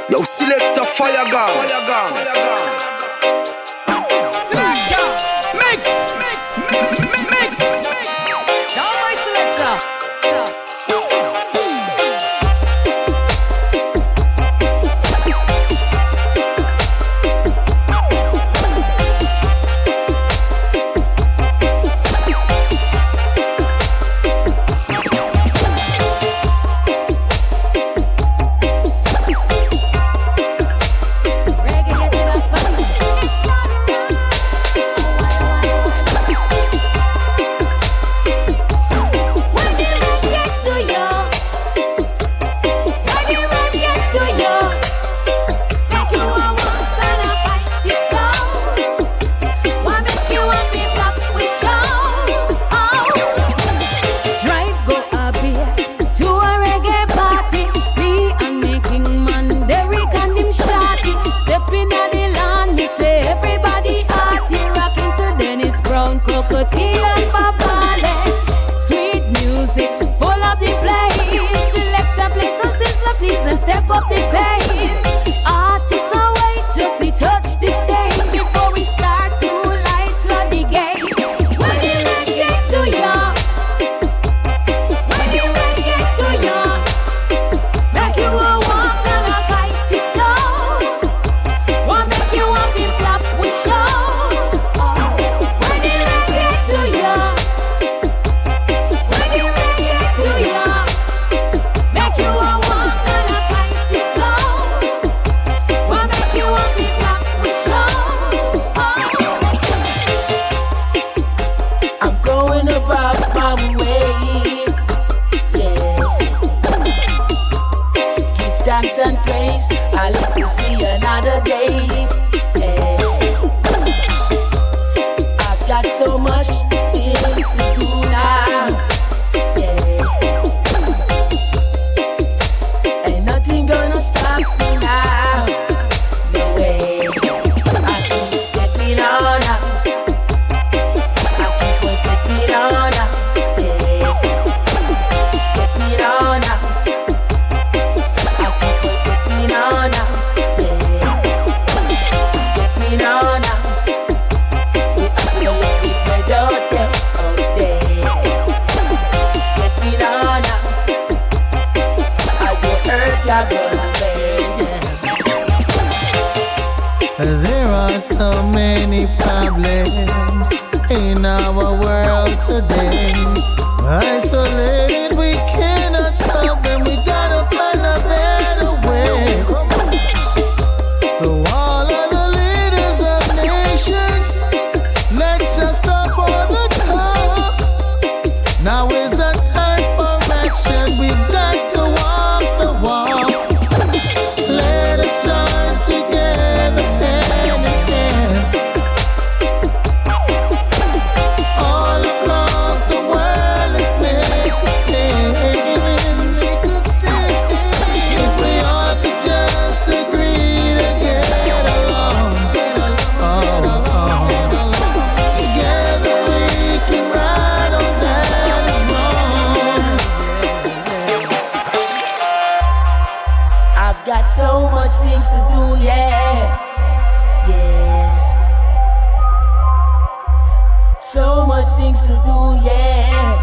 Yo, select a fire gun. Make. Now my selector. Step up the pace. Artists away, just we touch the stage before we start to light flood the gate. When the rain get to ya, when the rain get to ya, make you a walk and a fight it so. What make you want to flap with show? When the rain get to ya, when the rain get to ya, make you a walk. Thanks and praise, I live to see another day. Yeah. I've got so much things to do now. Yeah. Ain't nothing gonna stop me now. No way. I keep stepping on up. I keep on stepping on up. Yeah. Stepping on up. There are so many problems in our world today. Isolated, we cannot solve them. We gotta find a better way. So all of the leaders of nations, let's just stop all the talk. Now is the time for action. We've got to walk the walk. Let us join together hand in hand. All across the world, let's make a stand. If we all could just agree to get along, together we can ride on that wrong. I've got so much things to do, yeah. Yes. So much things to do, yeah.